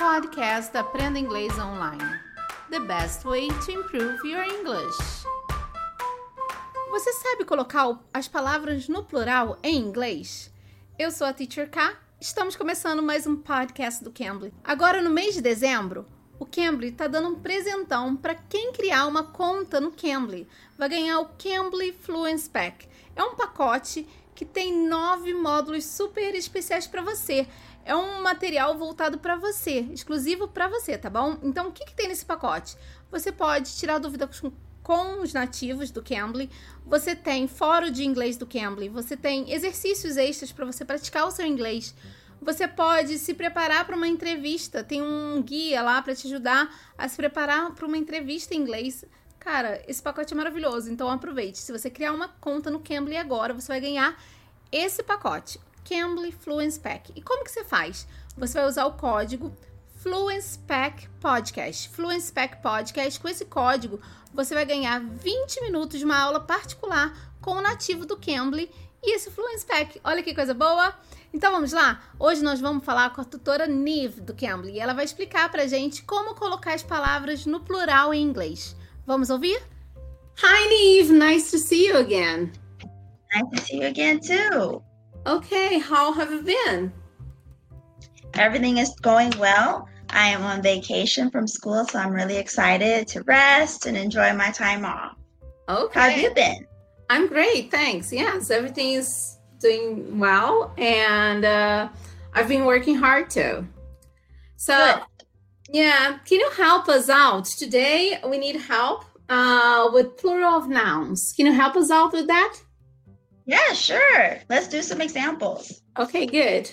podcast Aprenda Inglês Online. The best way to improve your English. Você sabe colocar as palavras no plural em inglês? Eu sou a Teacher K. Estamos começando mais um podcast do Cambly. Agora no mês de dezembro, o Cambly está dando um presentão para quem criar uma conta no Cambly. Vai ganhar o Cambly Fluency Pack. É um pacote que tem 9 módulos super especiais para você. É um material voltado para você, exclusivo para você, tá bom? Então, o que tem nesse pacote? Você pode tirar dúvidas com os nativos do Cambly, você tem fórum de inglês do Cambly, você tem exercícios extras para você praticar o seu inglês, você pode se preparar para uma entrevista, tem um guia lá para te ajudar a se preparar para uma entrevista em inglês. Cara, esse pacote é maravilhoso, então aproveite. Se você criar uma conta no Cambly agora, você vai ganhar esse pacote, Cambly Fluency Pack. E como que você faz? Você vai usar o código Fluency Pack Podcast. Fluency Pack Podcast. Com esse código, você vai ganhar 20 minutos de uma aula particular com o nativo do Cambly e esse Fluency Pack. Olha que coisa boa! Então vamos lá? Hoje nós vamos falar com a tutora Nive do Cambly e ela vai explicar pra gente como colocar as palavras no plural em inglês. Vamos ouvir? Hi Nive, nice to see you again. Nice to see you again too. Okay, how have you been? Everything is going well. I am on vacation from school, so I'm really excited to rest and enjoy my time off. Okay. How have you been? I'm great, thanks. Yes, everything is doing well, and I've been working hard too. So, Good. yeah, can you help us out? Today, we need help with plural of nouns. Can you help us out with that? Yeah, sure. Let's do some examples. Okay, good.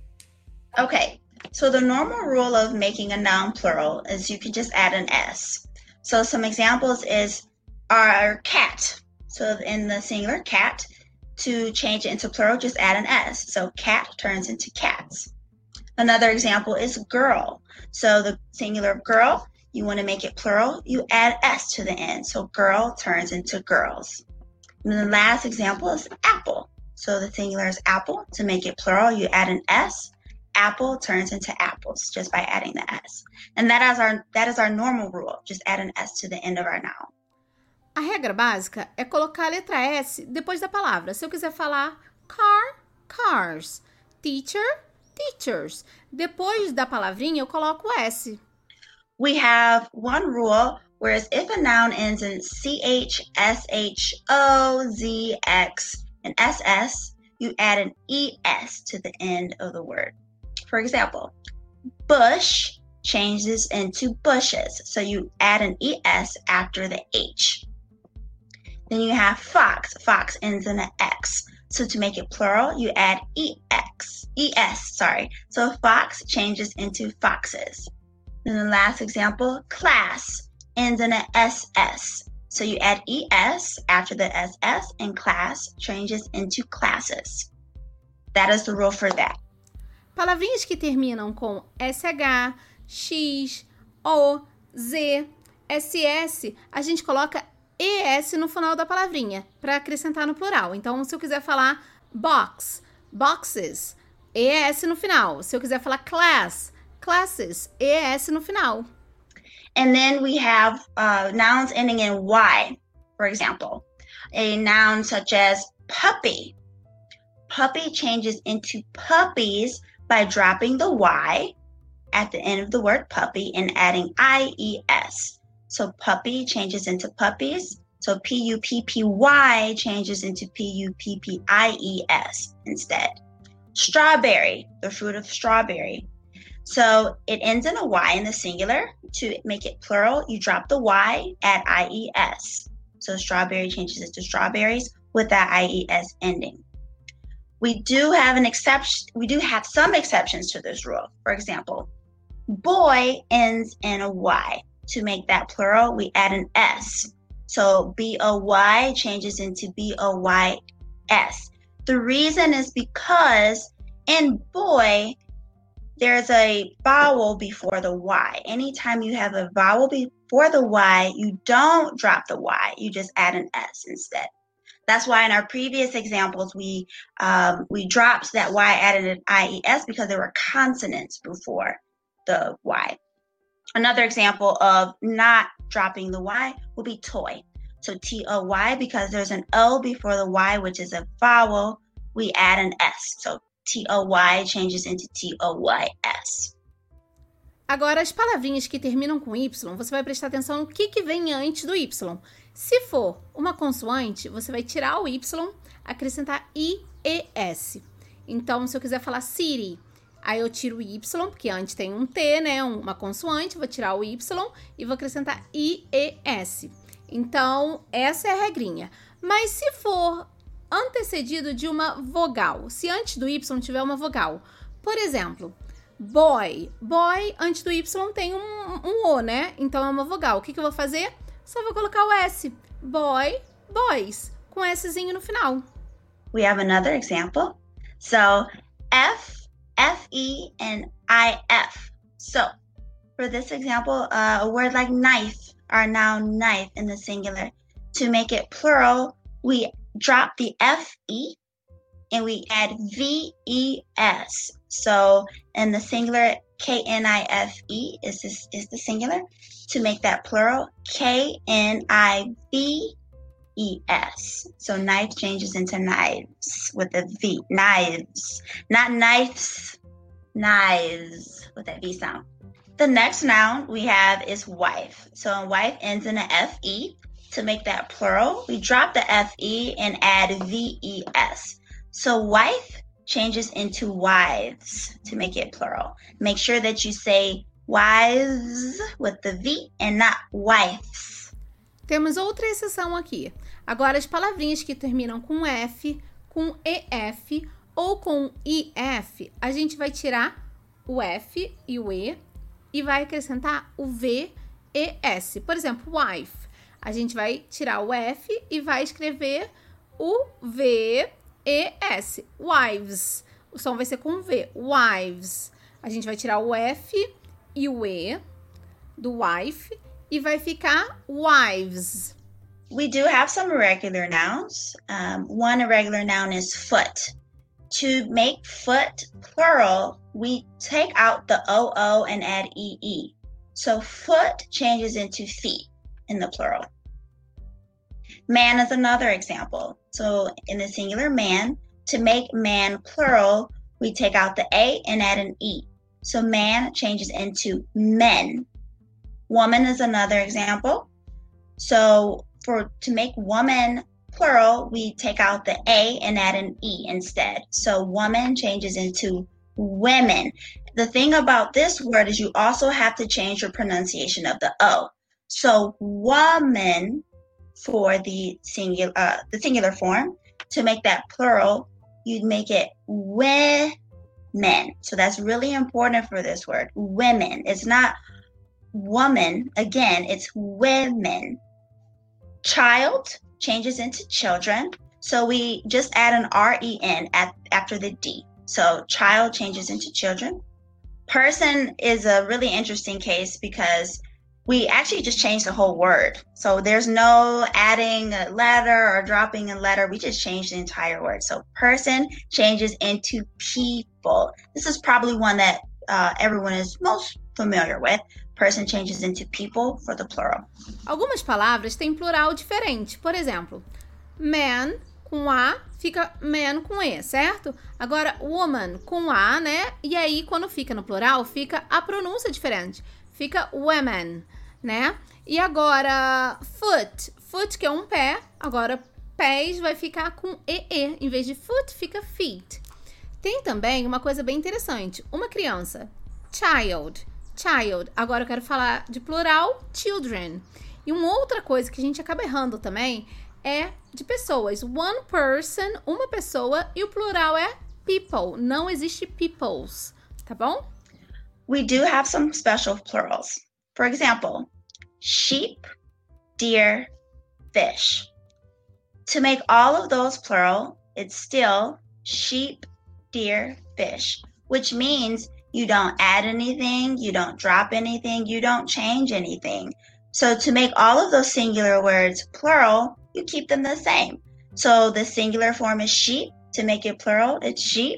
Okay, so the normal rule of making a noun plural is you can just add an S. So some examples is our cat. So in the singular cat, to change it into plural, just add an S. So cat turns into cats. Another example is girl. So the singular girl, you want to make it plural, you add S to the end. So girl turns into girls. And then the last example is apple. So the singular is apple. To make it plural, you add an S. Apple turns into apples just by adding the S. And that is our normal rule. Just add an S to the end of our noun. A regra básica é colocar a letra S depois da palavra. Se eu quiser falar car, cars, teacher, teachers. Depois da palavrinha, eu coloco o S. We have one rule, whereas if a noun ends in CH, SH, O, Z, X, and SS, you add an ES to the end of the word. For example, bush changes into bushes, so you add an ES after the H. Then you have fox. Fox ends in an X. So to make it plural, you add ES. So fox changes into foxes. And the last example, class ends in an SS. So you add ES after the SS and class changes into classes. That is the rule for that. Palavrinhas que terminam com SH, X, O, Z, SS, a gente coloca ES no final da palavrinha para acrescentar no plural. Então, se eu quiser falar box, boxes, ES no final. Se eu quiser falar class, classes, ES no final. And then we have nouns ending in Y, for example. A noun such as puppy. Puppy changes into puppies by dropping the Y at the end of the word puppy and adding IES. So puppy changes into puppies. So PUPPY changes into PUPPIES instead. Strawberry, the fruit of strawberry. So it ends in a Y in the singular. To make it plural, you drop the Y, add IES. So strawberry changes into strawberries with that IES ending. We do have some exceptions to this rule. For example, boy ends in a Y. To make that plural, we add an S. So BOY changes into BOYS. The reason is because in boy, there's a vowel before the Y. Anytime you have a vowel before the Y, you don't drop the Y. You just add an S instead. That's why in our previous examples, we dropped that Y, added an IES because there were consonants before the Y. Another example of not dropping the Y will be toy. So T-O-Y, because there's an O before the Y, which is a vowel, we add an S. So T-O-Y changes into T-O-Y-S. Agora, as palavrinhas que terminam com Y, você vai prestar atenção no que vem antes do Y. Se for uma consoante, você vai tirar o Y, acrescentar I-E-S. Então, se eu quiser falar city, aí eu tiro o Y, porque antes tem um T, né? Uma consoante, vou tirar o Y e vou acrescentar I-E-S. Então, essa é a regrinha. Mas se for antecedido de uma vogal, se antes do Y tiver uma vogal, por exemplo, boy. Boy, antes do Y tem um O, né? Então é uma vogal. O que eu vou fazer? Só vou colocar o S. Boy, boys, com Szinho no final. We have another example. So, F, F-E, and I-F. So, for this example, a word like knife, our noun knife in the singular. To make it plural, we drop the F-E and we add V-E-S. So in the singular, K-N-I-F-E is the singular. To make that plural, K-N-I-V-E-S. So knife changes into knives with a V. Knives. Not knives. Knives with that V sound. The next noun we have is wife. So wife ends in an F-E. To make that plural, we drop the F-E and add V-E-S. So wife changes into wives to make it plural. Make sure that you say wives with the V and not wives. Temos outra exceção aqui. Agora, as palavrinhas que terminam com F, com EF ou com IF, a gente vai tirar o F e o E e vai acrescentar o V-E-S. Por exemplo, wife. A gente vai tirar o F e vai escrever o V-E-S. Wives. O som vai ser com V. Wives. A gente vai tirar o F e o E do wife e vai ficar wives. We do have some irregular nouns. One irregular noun is foot. To make foot plural, we take out the O-O and add E-E. So foot changes into feet in the plural. Man is another example. So in the singular man, to make man plural, we take out the A and add an E. So man changes into men. Woman is another example. So to make woman plural, we take out the A and add an E instead. So woman changes into women. The thing about this word is you also have to change your pronunciation of the O. So woman for the singular form. To make that plural, you'd make it women. So that's really important for this word, women. It's not woman, again, it's women. Child changes into children. So we just add an R-E-N after the D. So child changes into children. Person is a really interesting case because we actually just changed the whole word. So there's no adding a letter or dropping a letter. We just changed the entire word. So person changes into people. This is probably one that everyone is most familiar with. Person changes into people for the plural. Algumas palavras têm plural diferente. Por exemplo, man com A fica man com E, certo? Agora, woman com A, né? E aí, quando fica no plural, fica a pronúncia diferente. Fica women, né? E agora, foot. Foot, que é um pé. Agora, pés vai ficar com EE. Em vez de foot, fica feet. Tem também uma coisa bem interessante. Uma criança. Child. Child. Agora eu quero falar de plural, children. E uma outra coisa que a gente acaba errando também é de pessoas. One person, uma pessoa. E o plural é people. Não existe peoples. Tá bom? We do have some special plurals. For example, sheep, deer, fish. To make all of those plural, it's still sheep, deer, fish, which means you don't add anything, you don't drop anything, you don't change anything. So to make all of those singular words plural, you keep them the same. So the singular form is sheep. To make it plural, it's sheep.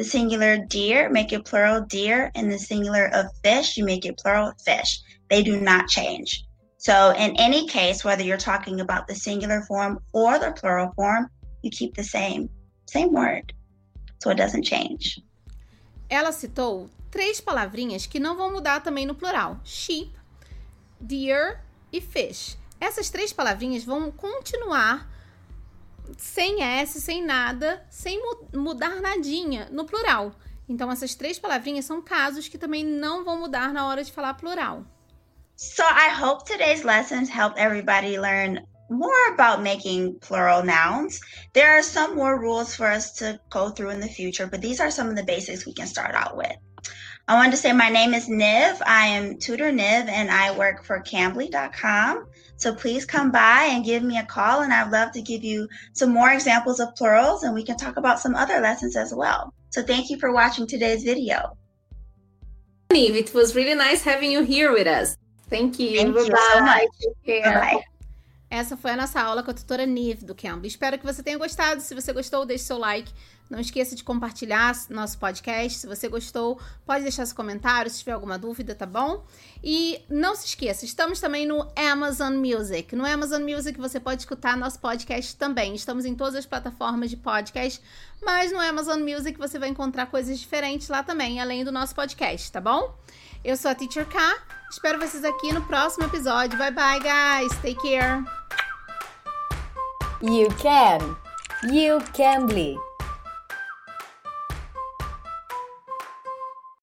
the singular deer, make it plural deer, and the singular of fish, you make it plural fish. They do not change. So in any case, whether you're talking about the singular form or the plural form, you keep the same word. So it doesn't change. Ela citou 3 palavrinhas que não vão mudar também no plural. Sheep, deer e fish. Essas 3 palavrinhas vão continuar sem S, sem nada, sem mudar nadinha no plural. Então, essas 3 palavrinhas são casos que também não vão mudar na hora de falar plural. So I hope today's lessons help everybody learn more about making plural nouns. There are some more rules for us to go through in the future, but these are some of the basics we can start out with. I wanted to say my name is Niv. I am Tutor Niv, and I work for Cambly.com. So please come by and give me a call, and I'd love to give you some more examples of plurals, and we can talk about some other lessons as well. So thank you for watching today's video. Niv, it was really nice having you here with us. Thank you. Thank you so much. Take care. Bye-bye. Essa foi a nossa aula com a tutora Niv do Cambly. Espero que você tenha gostado. Se você gostou, deixe seu like. Não esqueça de compartilhar nosso podcast. Se você gostou, pode deixar seu comentário se tiver alguma dúvida, tá bom? E não se esqueça, estamos também no Amazon Music. No Amazon Music você pode escutar nosso podcast também. Estamos em todas as plataformas de podcast, mas no Amazon Music você vai encontrar coisas diferentes lá também, além do nosso podcast, tá bom? Eu sou a Teacher K. Espero vocês aqui no próximo episódio. Bye bye, guys. Take care. You can. You Cambly.